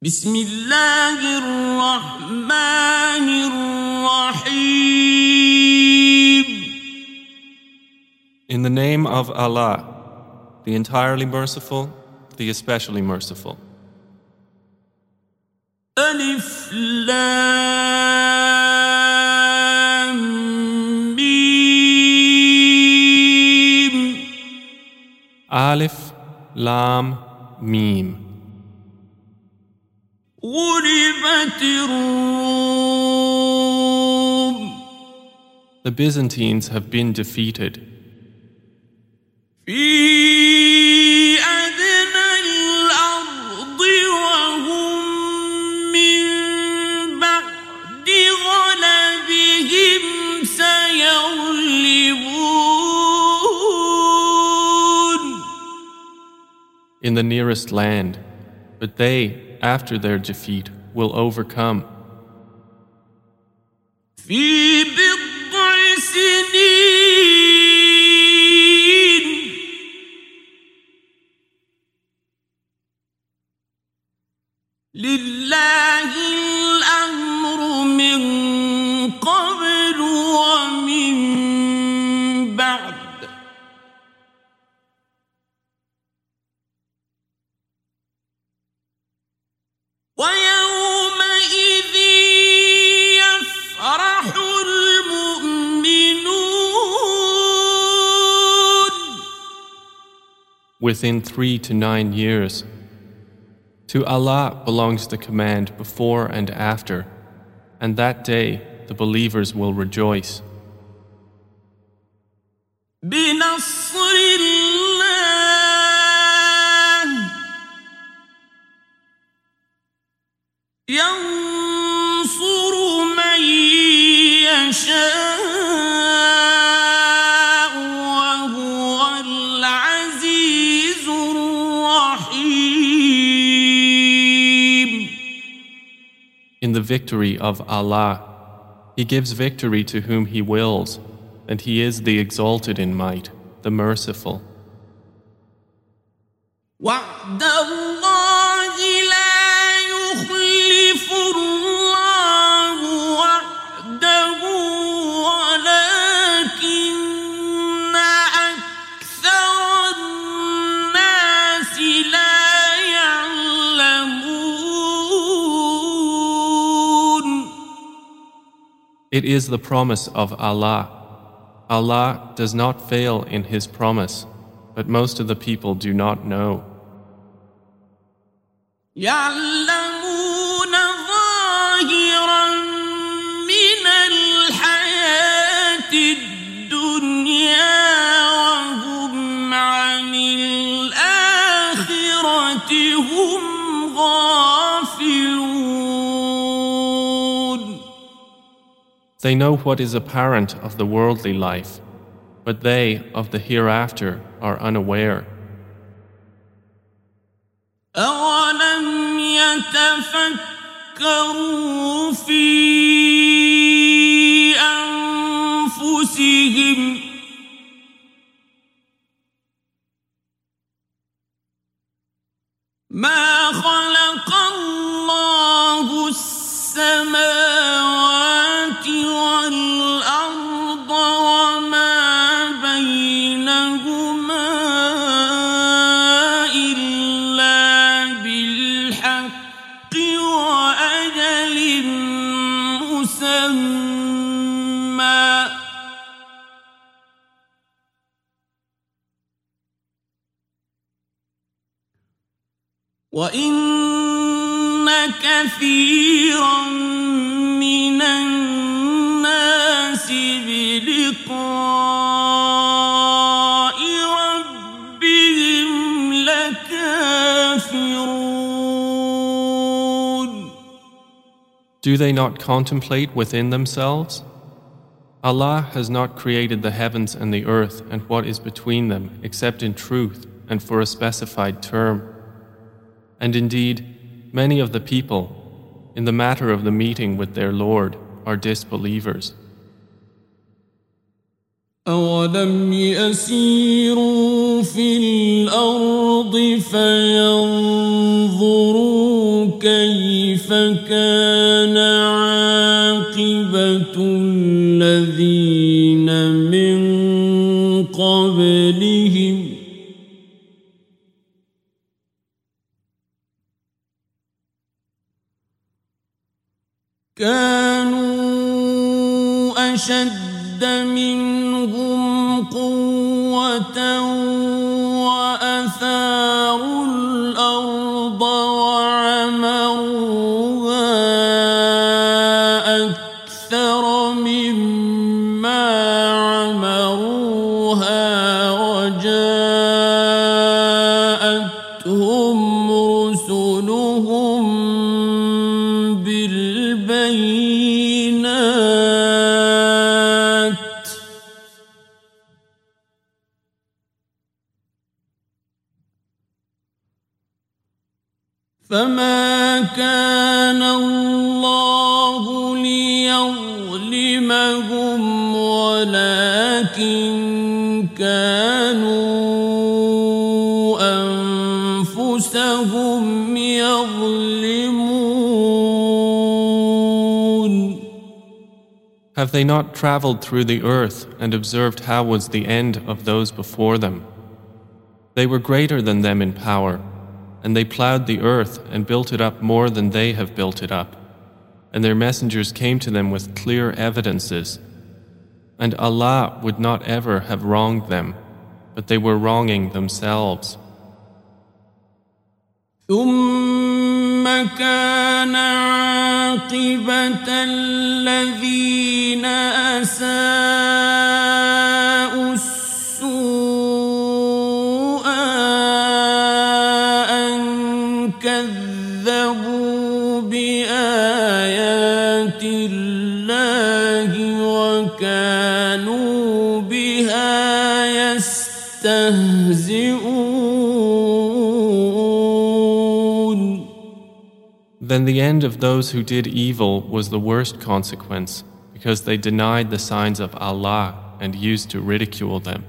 بسم الله الرحمن الرحيم. In the name of Allah, the entirely merciful, the especially merciful. ألف لام ميم. Alif, Lam, Mim. غلبت الروم. The Byzantines have been defeated. في أدنى الأرض وهم من بعد غلبهم سيغلبون. In the nearest land, but they, after their defeat, will overcome. في بضع سنين لله الأمر من قبل ومن بعد ويومئذ يفرح المؤمنون. Within 3 to 9 years. To Allah belongs the command before and after, and that day the believers will rejoice. بنصر الله ينصر من يشاء وهو العزيز الرحيم. In the victory of Allah, He gives victory to whom He wills, and He is the exalted in might, the merciful. وعد الله لا يخلف الله وعده ولكن أكثر الناس لا يعلمون. It is the promise of Allah. Allah does not fail in His promise, but most of the people do not know. يعلمون ظاهرا من الحياة الدنيا وهم عن الآخرة هم غافلون. They know what is apparent of the worldly life, but they of the hereafter are unaware. أولم يتفكروا في أنفسهم ما خلق الله السماوات والأرض وما بينهما إلا بالحق وأجل مسمى وإن كثيرا من الناس بلقاء ربهم لكافرون. Do they not contemplate within themselves? Allah has not created the heavens and the earth and what is between them except in truth and for a specified term. And indeed, many of the people, in the matter of the meeting with their Lord, are disbelievers. أولم يسيروا في الأرض فينظروا كيف كان عاقبة الذين من قبلهم كانوا أشد منهم قوة وأثاروا الأرض وعمروها أكثر مما عمروها وجاءتهم رسلهم بالبينات فما كان الله ليظلمهم ولكن كانوا أنفسهم يظلمون. Have they not traveled through the earth and observed how was the end of those before them? They were greater than them in power, and they plowed the earth and built it up more than they have built it up. And their messengers came to them with clear evidences. And Allah would not ever have wronged them, but they were wronging themselves. ثم كان عاقبة الذين أساءوا السوء أن كذبوا بآيات الله وكانوا بها يستهزئون. Then the end of those who did evil was the worst consequence, because they denied the signs of Allah and used to ridicule them.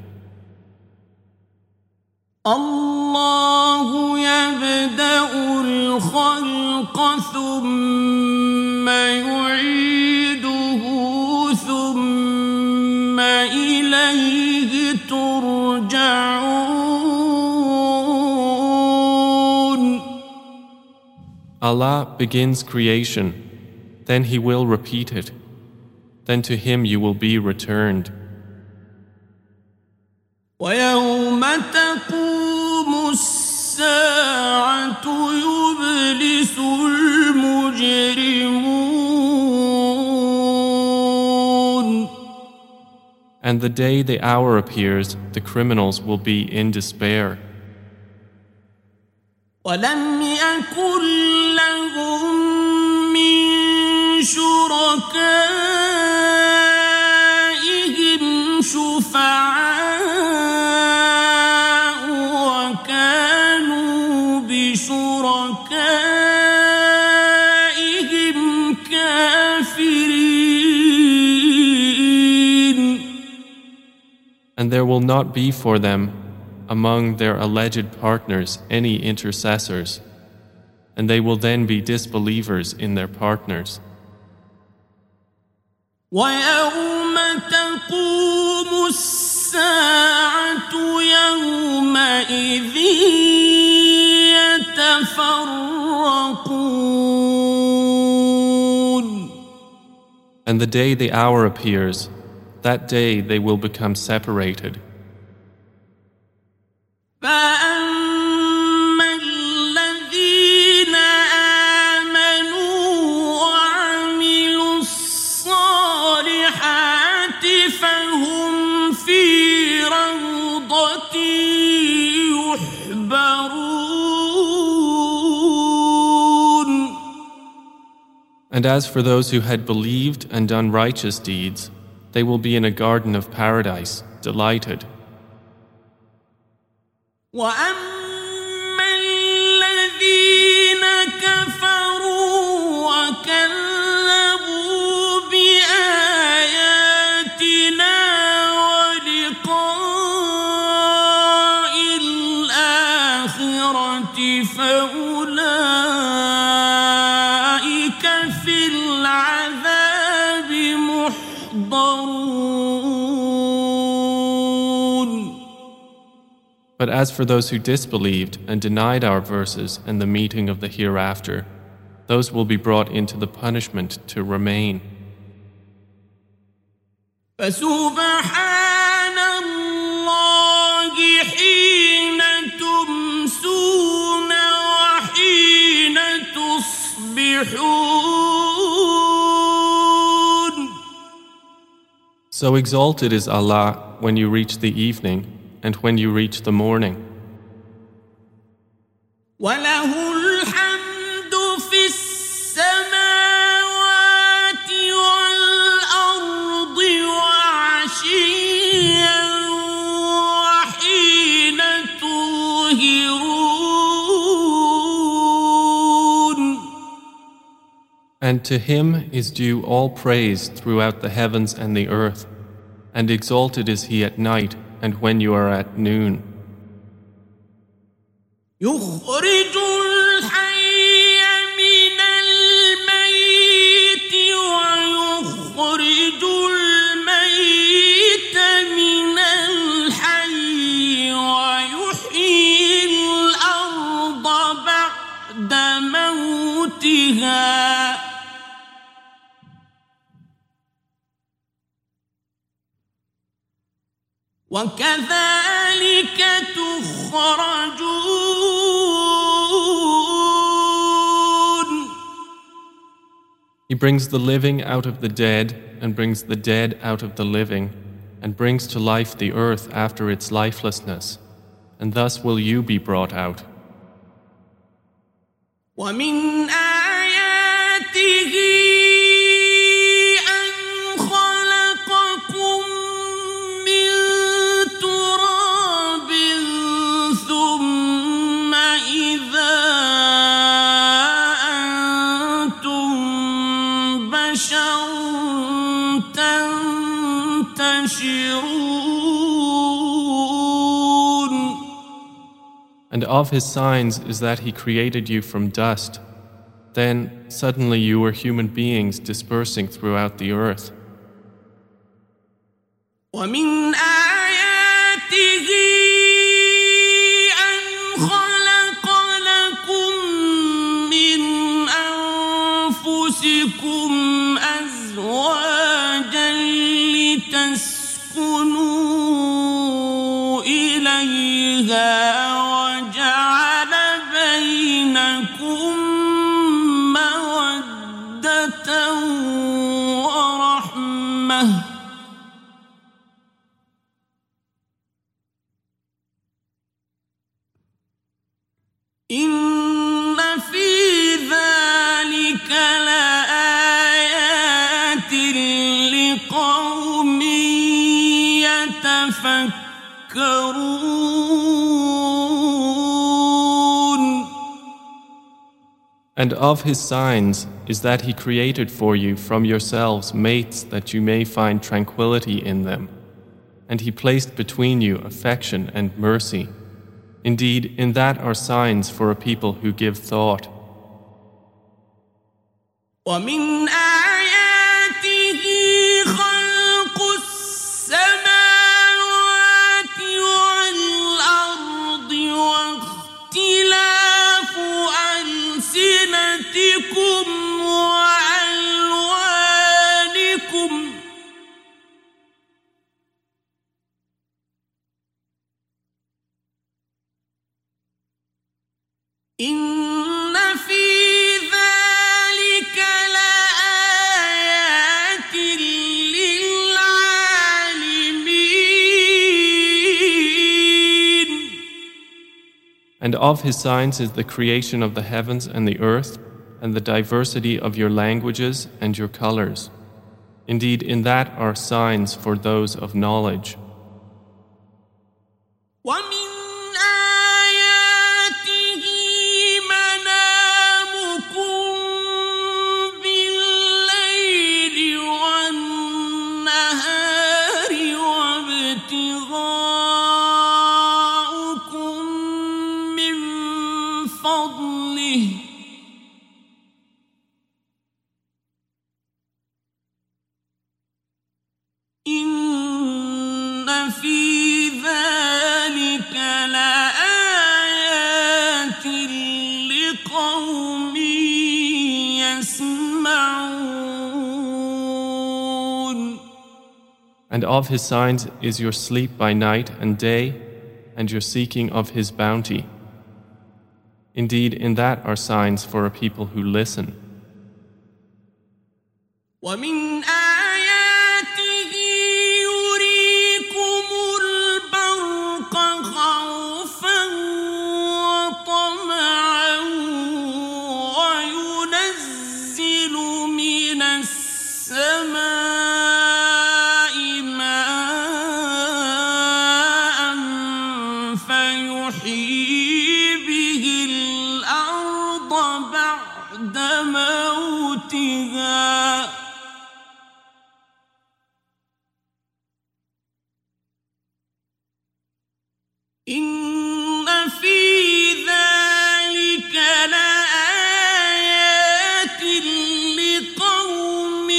الله يبدأ الخلق ثم يعيده ثم إليه ترجعون. Allah begins creation, then He will repeat it. Then to Him you will be returned. ويوم تقوم الساعة يبلس المجرمون. And the day the hour appears, the criminals will be in despair. ولم يكن لهم من شركائهم شفعاء وكانوا بشركائهم كافرين. And there will not be for them among their alleged partners any intercessors, and they will then be disbelievers in their partners. ويوم تقوم الساعة يومئذ يتفرقون. And the day the hour appears, that day they will become separated. فأما الذين آمنوا وعملوا الصالحات فهم في روضة يحبرون. And as for those who had believed and done righteous deeds, they will be in a garden of paradise, delighted. وأما الذين كفروا وكذبوا بآياتنا ولقاء الآخرة فأولئك يحضرون. But as for those who disbelieved and denied our verses and the meeting of the hereafter, those will be brought into the punishment to remain. فسبحان الله حين تمسون وحين تصبحون. So exalted is Allah when you reach the evening and when you reach the morning. وله الحمد في السماوات والأرض وعشيا وحين تظهرون. And to him is due all praise throughout the heavens and the earth, and exalted is he at night and when you are at noon. يخرج الحي من الميت ويخرج الميت من الحي ويحيي الأرض بعد موتها وكذلك تخرجون. He brings the living out of the dead and brings the dead out of the living and brings to life the earth after its lifelessness, and thus will you be brought out. ومن آياته أن خلقكم من تراب ثم إذا أنتم بشر تنتشرون. And of his signs is that he created you from dust. Then suddenly you were human beings dispersing throughout the earth. ومن آياته أن خلق لكم من أنفسكم أزواجا لتسكنوا إليها وجعل بينكم مودة ورحمة إن في ذلك لآيات لقوم يتفكرون. And of his signs is that he created for you from yourselves mates that you may find tranquility in them. And he placed between you affection and mercy. Indeed, in that are signs for a people who give thought. ومن آياته خلق السماوات والأرض واختلاف ألسنتكم وألوانكم إن في ذلك لآيات للعالمين. And of his signs is the creation of the heavens and the earth, and the diversity of your languages and your colors. Indeed, in that are signs for those of knowledge. ومن آياته منامكم بالليل والنهار وابتغاؤكم من فضله And of His signs is your sleep by night and day, and your seeking of His bounty. Indeed, in that are signs for a people who listen. ومن آياته يريكم البرق خوفا وطمعا وينزل من السماء ماء فيحيي به الأرض بعد موتها إن في ذلك لآيات لقوم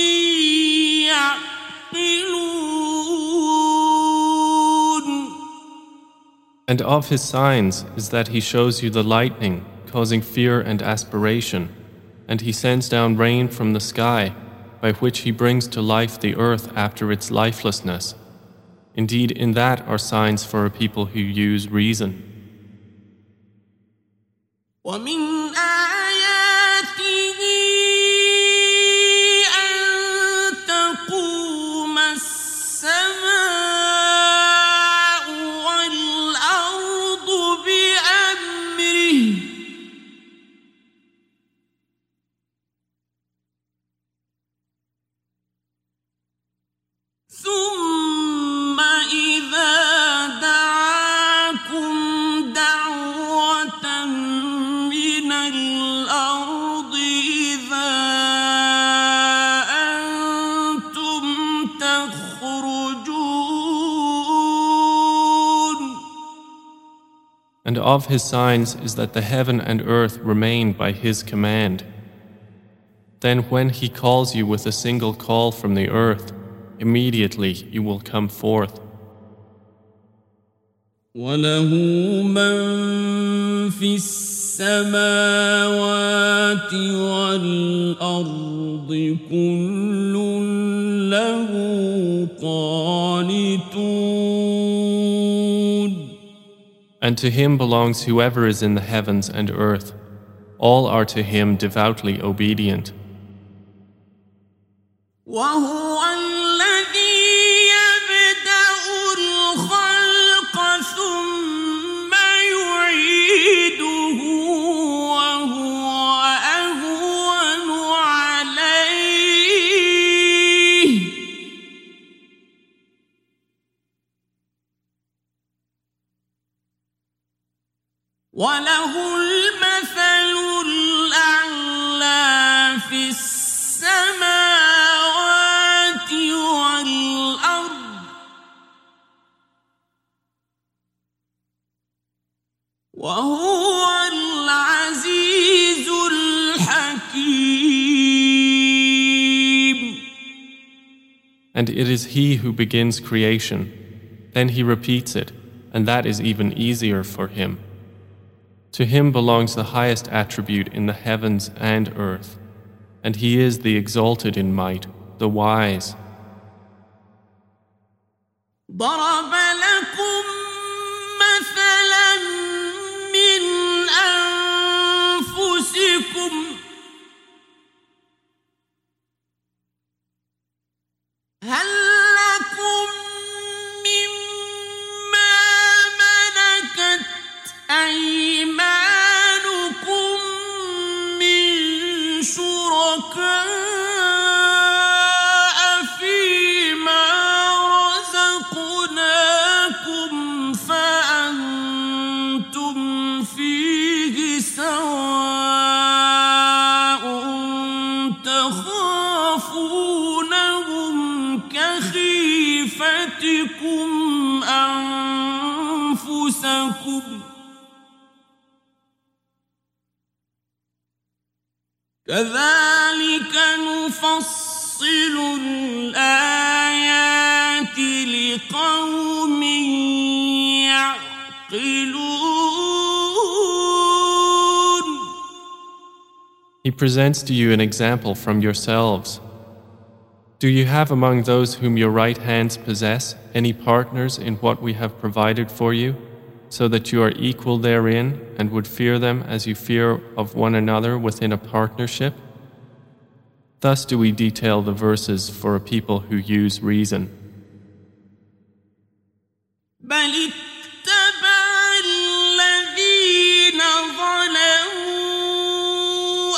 يعقلون. And of His signs is that He shows you the lightning, causing fear and aspiration, and He sends down rain from the sky, by which He brings to life the earth after its lifelessness. Indeed, in that are signs for a people who use reason. ومن آياته أن تقوم السماء والأرض بأمره ثم إذا دعاكم دعوة من الأرض إذا أنتم تخرجون. And of His signs is that the heaven and earth remain by His command. Then when He calls you with a single call from the earth, immediately you will come forth. وله من في السماوات والأرض كل له قانتون. And to Him belongs whoever is in the heavens and earth. All are to Him devoutly obedient. وهو الذي يبدأ الخلق ثم يعيده وهو أهون عليه وله المثل الأعلى في السماوات والأرض وهو العزيز الحكيم. And it is He who begins creation. Then He repeats it, and that is even easier for Him. To Him belongs the highest attribute in the heavens and earth, and He is the exalted in might, the wise. ضرب لكم مثلا من أنفسكم هل لكم مما ملكت أيمانكم من شركاء فيما رزقناكم فأنتم فيه سواء تخافونهم كخيفتكم أنفسكم كذلك نفصل الآيات لقوم يعقلون. He presents to you an example from yourselves. Do you have among those whom your right hands possess any partners in what we have provided for you, so that you are equal therein and would fear them as you fear of one another within a partnership? Thus do we detail the verses for a people who use reason. بل اتبع الذين ظلموا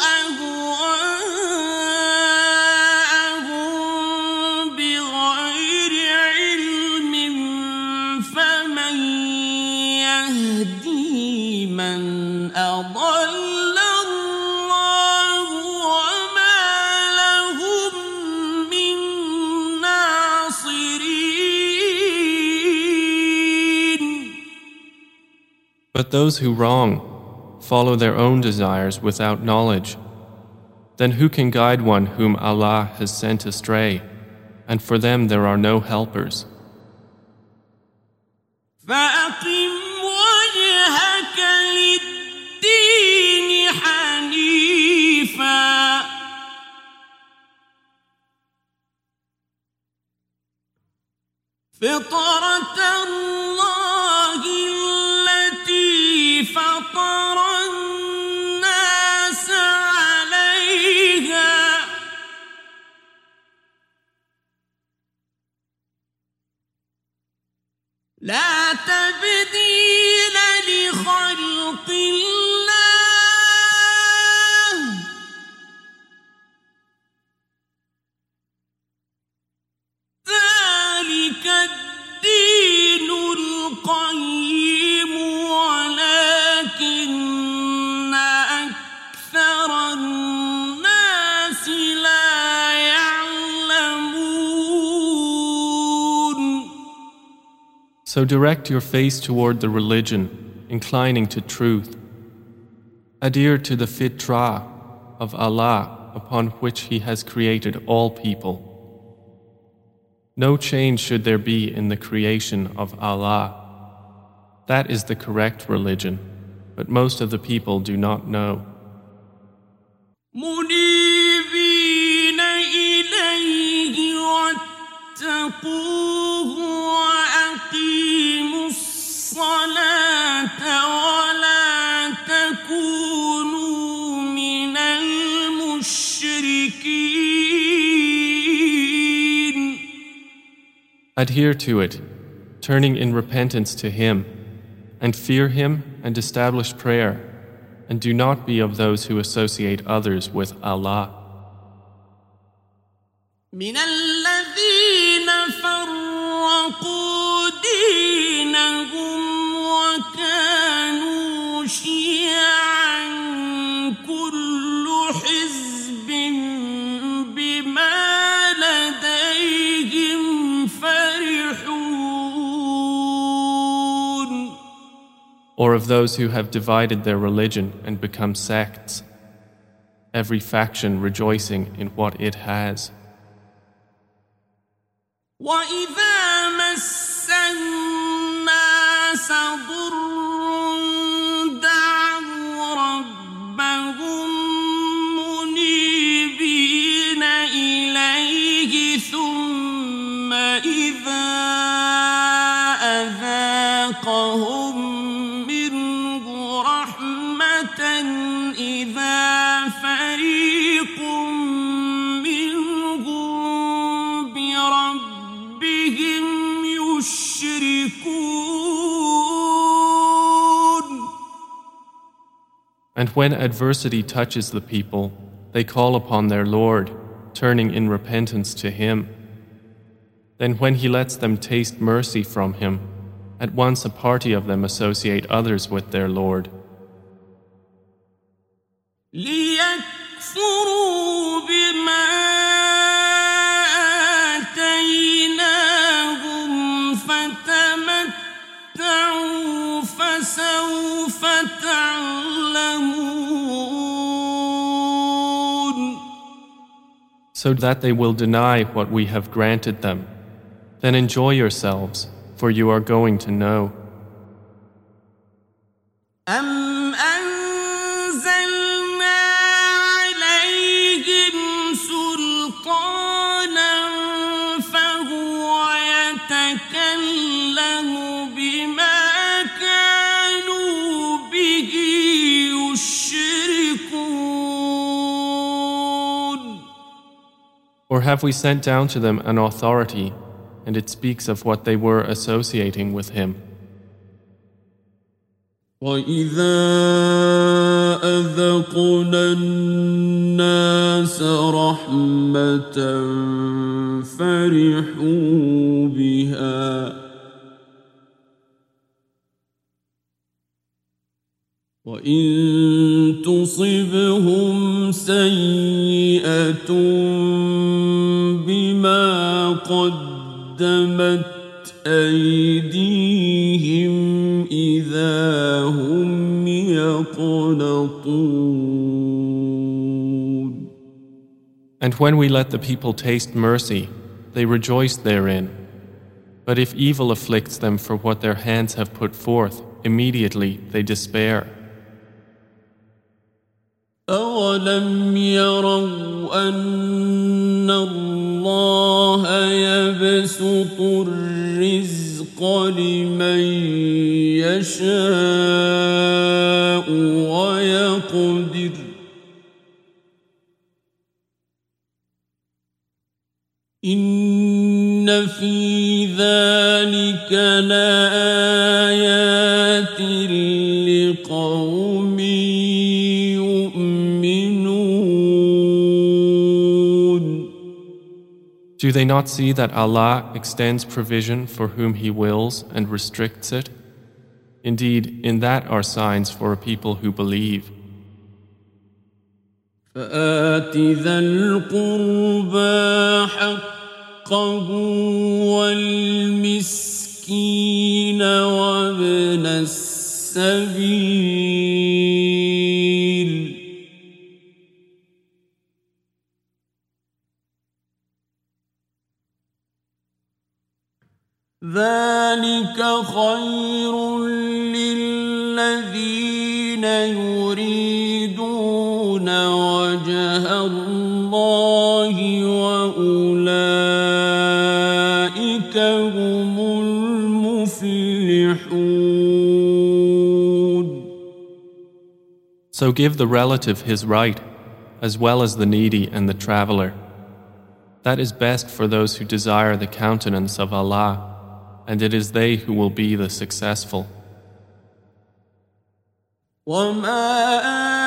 أهواءهم بغير علم فمن يهدي من أضل الله وما لهم من ناصرين. But those who wrong follow their own desires without knowledge. Then who can guide one whom Allah has sent astray? And for them there are no helpers. فأقم وجهك للدين حنيفا فطرة الله التي فطر الناس عليها لا تبديل لخلق الله ذلك الدين القيم ولكن أكثر الناس لا يعلمون. So direct your face toward the religion, inclining to truth. Adhere to the fitrah of Allah upon which He has created all people. No change should there be in the creation of Allah. That is the correct religion, but most of the people do not know. منيبين إليه واتقوه وأقيموا الصلاة ولا تكونوا من المشركين. Adhere to it, turning in repentance to Him, and fear Him and establish prayer, and do not be of those who associate others with Allah. من الذين فرقوا دينهم وكانوا شيعا كل حزب بما لديهم فرحون. Or of those who have divided their religion and become sects, every faction rejoicing in what it has. وإذا مس الناس ضر دعوا ربهم منيبين إليه ثم إذا أذاقهم منه رحمة إذا فريق منهم بربهم يشركون. And when adversity touches the people, they call upon their Lord, turning in repentance to Him. Then when He lets them taste mercy from Him, at once a party of them associate others with their Lord. ليكفروا بما آتيناهم فتمتعوا فسوف تعلمون. So that they will deny what we have granted them. Then enjoy yourselves, for you are going to know. أم أنزلنا عليهم سلطانا Or have we sent down to them an authority, and it speaks of what they were associating with him? وَإِذَا أَذَقْنَا النَّاسَ رَحْمَةً فَرِحُوا بِهَا وَإِن تُصِبْهُمْ سَيِّئَةٌ بِمَا قَدَّمَتْ أَيْدِيهِمْ إِذَا هُمْ يَقْنَطُونَ And when we let the people taste mercy, they rejoice therein. But if evil afflicts them for what their hands have put forth, immediately they despair. أَوَلَمْ يَرَوْا أَنَّ اللَّهَ يَبْسُطُ الرِّزْقَ لِمَن يَشَاءُ وَيَقْدِرُ إِنَّ فِي ذَلِكَ لَآيَاتٍ لِقَوْمٍ Do they not see that Allah extends provision for whom He wills and restricts it? Indeed, in that are signs for a people who believe. فَآتِ ذَا الْقُرْبَى حَقَّهُ وَالْمِسْكِينَ وَابْنَ السَّبِيلِ ذَلِكَ خَيْرٌ لِّلَّذِينَ يُرِيدُونَ وَجْهَ اللَّهِ وَأُولَٰئِكَ هُمُ الْمُفْلِحُونَ So give the relative his right, as well as the needy and the traveler. That is best for those who desire the countenance of Allah, and it is they who will be the successful. وَمَا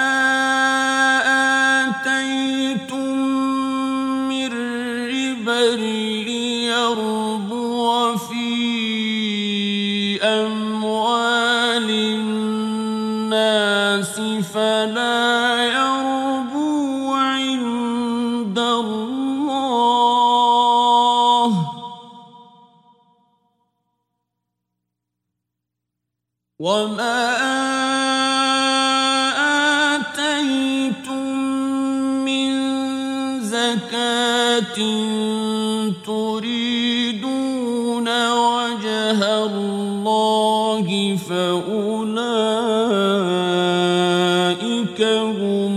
آتَيْتُم مِّن رِّبًا لِّيَرْبُوَ فِي أَمْوَالِ النَّاسِ فَلَا يَرْبُو عِندَ اللَّهِ وَمَا آتَيْتُم مِّن زَكَاةٍ تُرِيدُونَ وَجْهَ اللَّهِ فَأُولَٰئِكَ هُمُ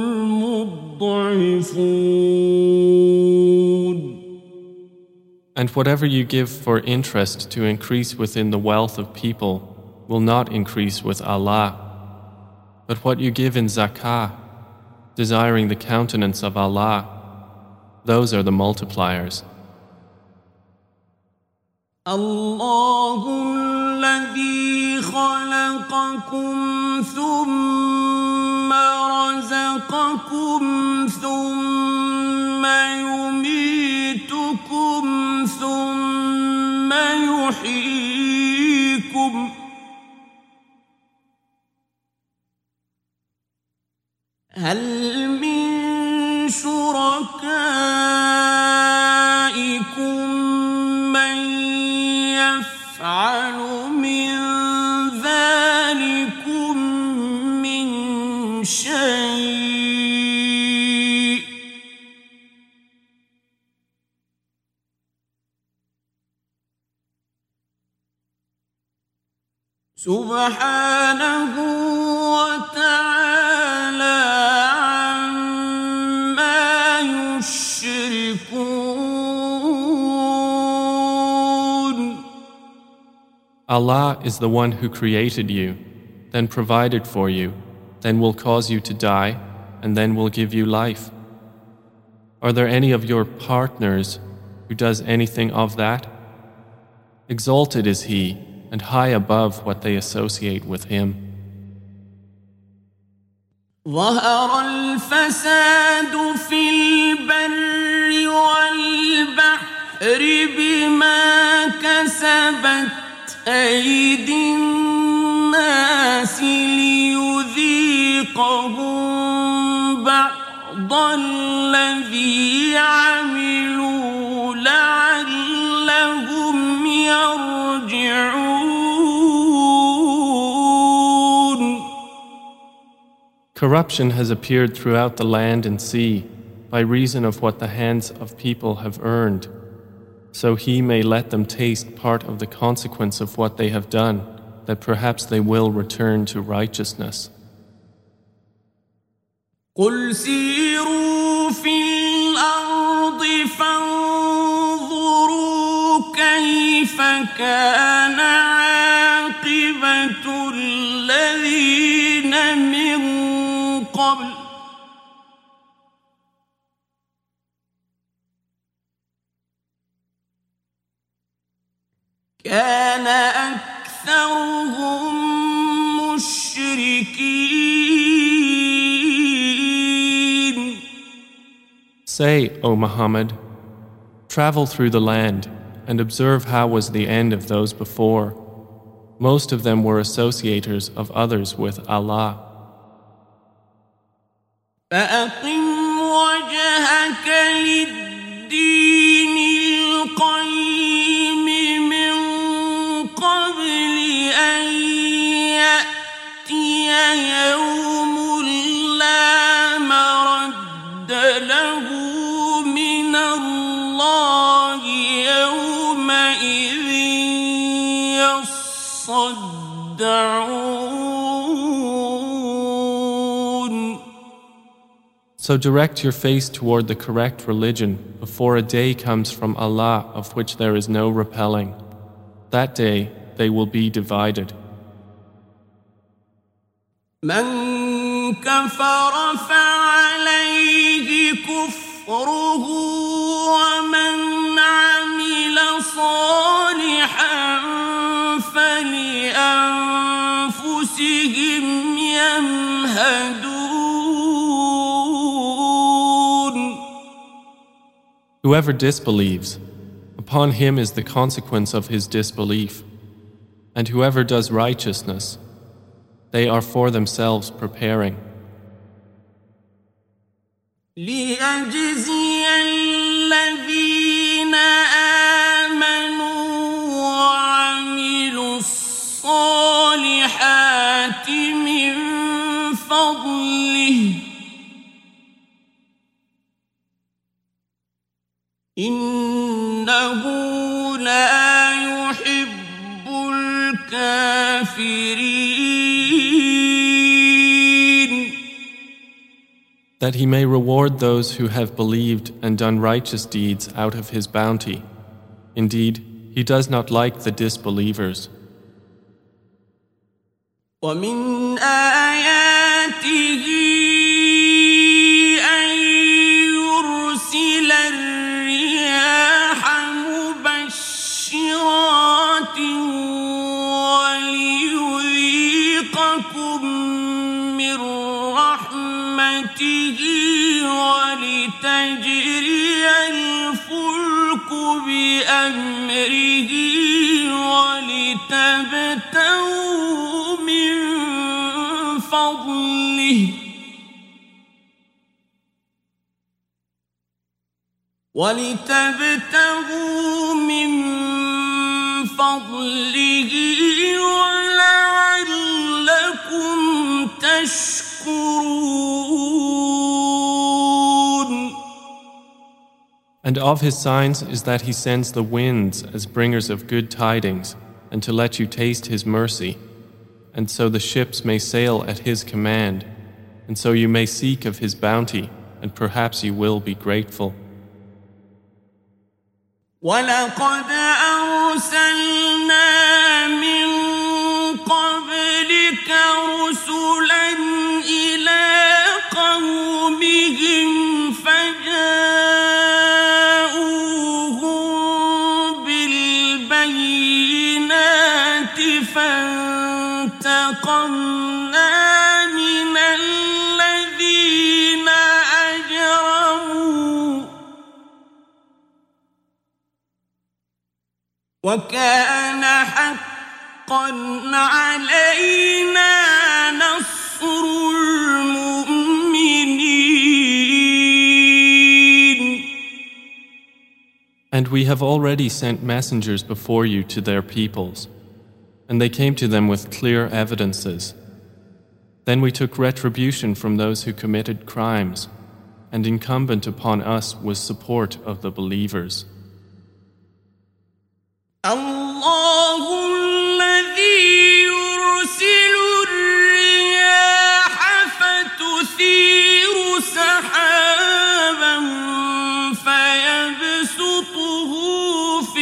الْمُضْعِفُونَ And whatever you give for interest to increase within the wealth of people will not increase with Allah. But what you give in zakah, desiring the countenance of Allah, those are the multipliers. الله الذي خلقكم ثم رزقكم ثم يميتكم ثم يحييكم هل من شركائكم من يفعل من ذلكم من شيء سبحانه وتعالى عما يشركون. Allah is the one who created you, then provided for you, then will cause you to die, and then will give you life. Are there any of your partners who does anything of that? Exalted is he, and high above what they associate with him. ظهر الفساد في البر والبحر بما كسبت أيدي الناس ليذيقهم بعض الذي عملوا لعلهم يرجعون. Corruption has appeared throughout the land and sea by reason of what the hands of people have earned, so he may let them taste part of the consequence of what they have done, that perhaps they will return to righteousness. قل سيروا في الأرض فانظروا كيف كان عاقبة الذين من قبل كان أكثرهم مشركين. Say, O Muhammad, travel through the land and observe how was the end of those before. Most of them were associators of others with Allah. فأقم وجهك للدين القيم من قبل أن يأتي يوم لا مرد له من الله يومئذ يصدعون. So direct your face toward the correct religion before a day comes from Allah of which there is no repelling. That day they will be divided. من كفر فعليه كفره ومن عمل صالحا فلأنفسهم يمهدون. Whoever disbelieves, upon him is the consequence of his disbelief. And whoever does righteousness, they are for themselves preparing. ليجزي الذين آمنوا وعملوا الصالحات من فضله إنه لا يحب الكافرين. That he may reward those who have believed and done righteous deeds out of his bounty. Indeed, he does not like the disbelievers. ومن آياته أن يرسل الرياح مبشرات وليذيقكم من رحمته ولتجري الفلك بأمره ولتبتغوا من فضله ولعلكم تشكرون. And of his signs is that he sends the winds as bringers of good tidings, and to let you taste his mercy, and so the ships may sail at his command, and so you may seek of his bounty, and perhaps you will be grateful. وَلَقَدْ أَرْسَلْنَا مِن قَبْلِكَ رُسُلًا إِلَىٰ قَوْمِهِمْ فَجَاءُوهُم وكان حقا علينا نصر المؤمنين. And we have already sent messengers before you to their peoples, and they came to them with clear evidences. Then we took retribution from those who committed crimes, and incumbent upon us was support of the believers. الله الذي يرسل الرياح فتثير سحابا فيبسطه في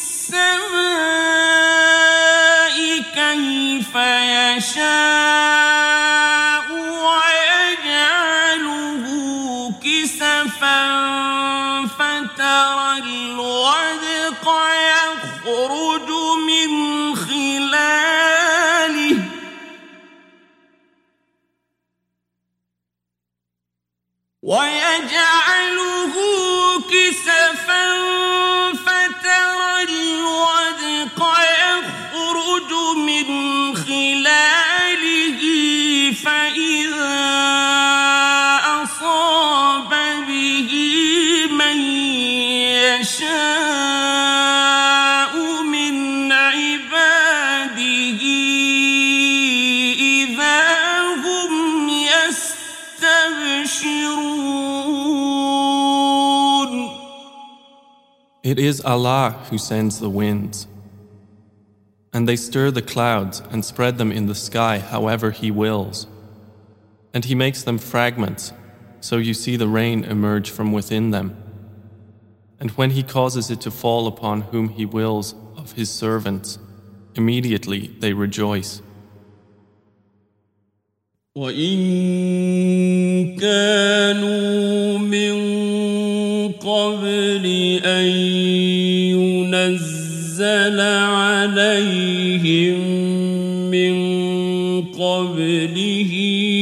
السماء كيف يشاء ويجعله كسفا فترى الودق يخرج من خلاله فترى الودق يخرج من خلاله فإذا أصاب به من يشاء من عباده إذا هم يستبشرون. It is Allah who sends the winds, and they stir the clouds and spread them in the sky however He wills. And He makes them fragments, so you see the rain emerge from within them. And when He causes it to fall upon whom He wills of His servants, immediately they rejoice. وَإِن كَانُوا مِن قَبْلِ أَن يُنَزَّلَ عَلَيْهِم مِّن قَبْلِهِ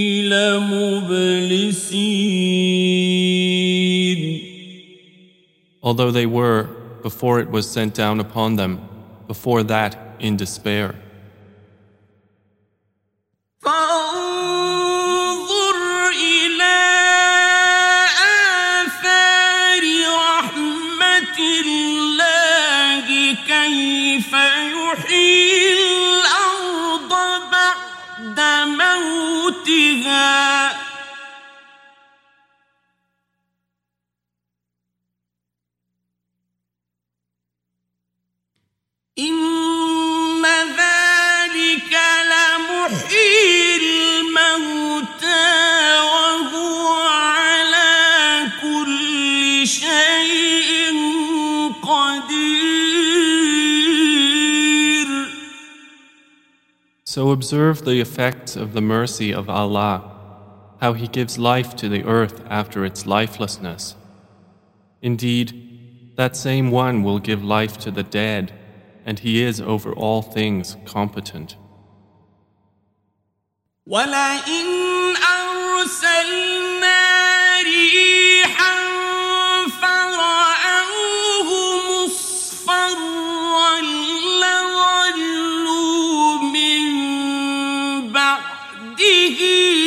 لَمُبْلِسِينَ. Although they were, before it was sent down upon them, before that in despair. فانظر إلى آثار رحمة الله كيف يحيي الأرض بعد موتها إن ذلك لمحيي الموتى وهو على كل شيء قدير. So observe the effects of the mercy of Allah, how He gives life to the earth after its lifelessness. Indeed, that same one will give life to the dead, and He is over all things competent. وَلَئِنْ أَرْسَلْنَا رِيحًا فَرَأَوْهُ مُصْفَرًّا لَظَلُّوا مِن بَعْدِهِ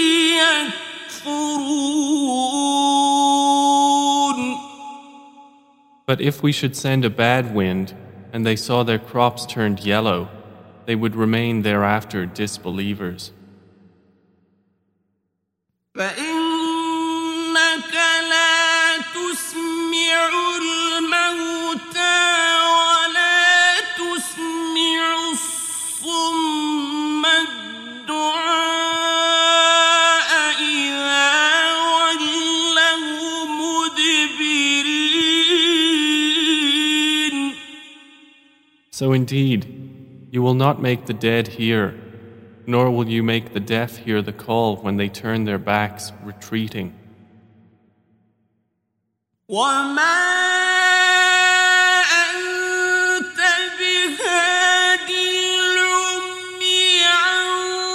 يَكْفُرُونَ. But if we should send a bad wind, and they saw their crops turned yellow, they would remain thereafter disbelievers. فإنك لا تسمع الموتى ولا تسمع الصم الدعاء إذا ولوا مدبرين. So indeed, you will not make the dead hear, nor will you make the deaf hear the call when they turn their backs, retreating. وما أنت بهادي العمي عن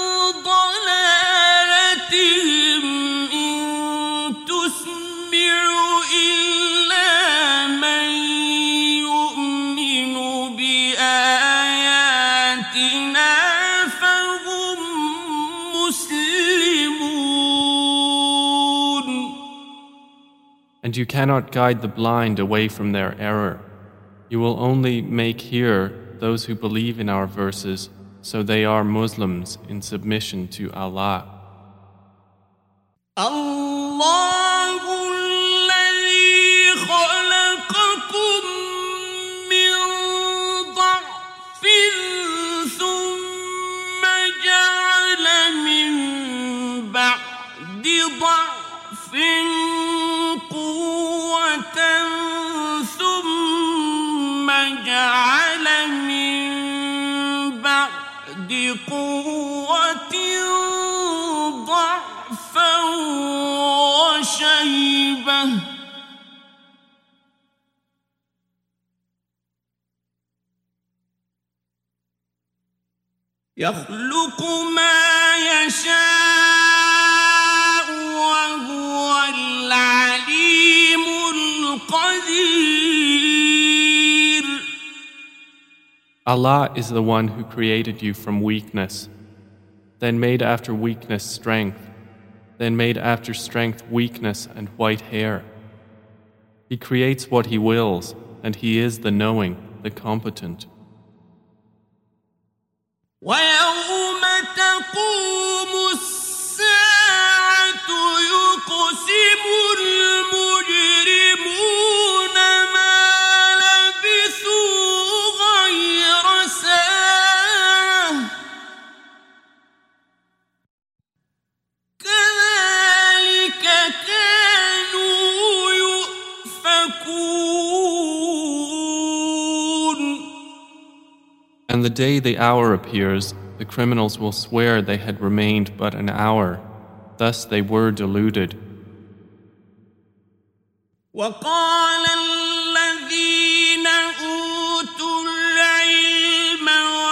ضلالتهم إن تسمع إلا من يؤمن بآياتنا And you cannot guide the blind away from their error. You will only make hear those who believe in our verses, so they are Muslims in submission to Allah. الله الذي خلقكم من ضعف ثم جعل من بعد ضعف قوة ثم جعل من بعد قوة ضعفا وشيبة يخلق ما يشاء وهو العليم القدير. Allah is the one who created you from weakness, then made after weakness strength, then made after strength weakness and white hair. He creates what He wills, and He is the knowing, the competent. ويوم تقوم الساعة يقسم المجرمون ما لبثوا غير ساعة كذلك كانوا يؤفكون. And the day the hour appears, the criminals will swear they had remained but an hour. Thus they were deluded. وقال الذين أوتوا العلم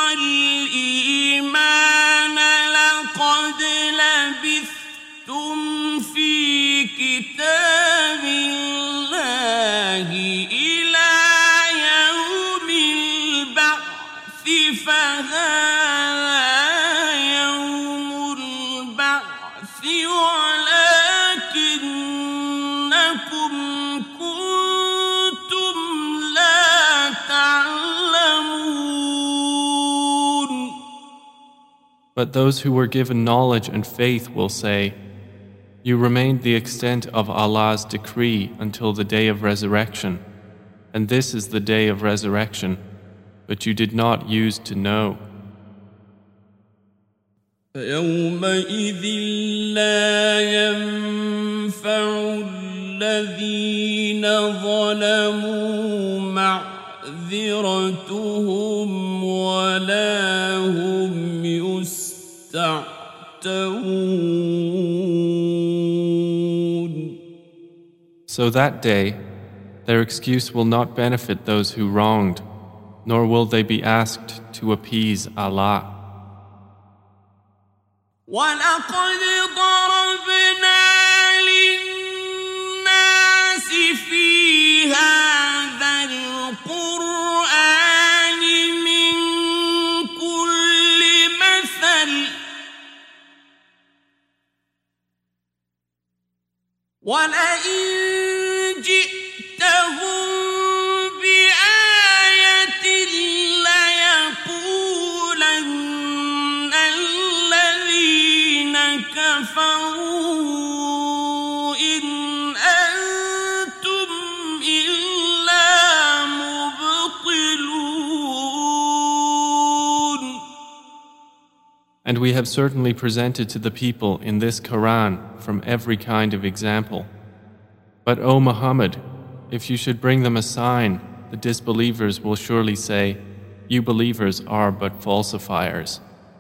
والإيمان لقد لبثتم في كتاب الله إلى يوم البعث فهذا يوم البعث ولكنكم كنتم لا تعلمون. But those who were given knowledge and faith will say, "You remained the extent of Allah's decree until the day of resurrection, and this is the day of resurrection, but you did not use to know." فيومئذ لا ينفع الذين ظلموا معذرتهم ولا هم يستعتبون. So that day, their excuse will not benefit those who wronged, nor will they be asked to appease Allah. ولقد ضربنا للناس في هذا القرآن من كل مثل ولئن جئتهم بآية ليقولن الذين كفروا إن أنتم إلا مبطلون. And we have certainly presented to the people in this Quran from every kind of example. But O Muhammad, if you should bring them a sign, the disbelievers will surely say, "You believers are but falsifiers."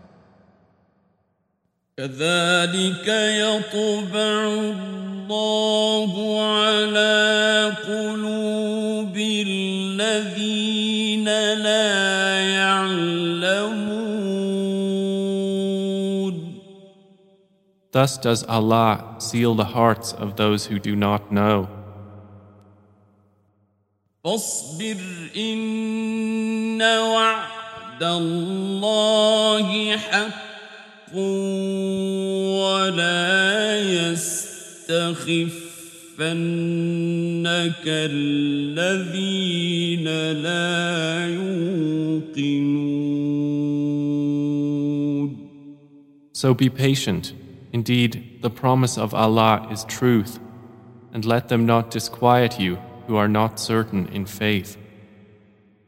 كذلك يطبع الله على قلوب الذين لا يعلمون. Thus does Allah seal the hearts of those who do not know. فاصبر إن وعد الله حق ولا يستخفنك كالذين لا يوقنون. So be patient. Indeed, the promise of Allah is truth, and let them not disquiet you who are not certain in faith.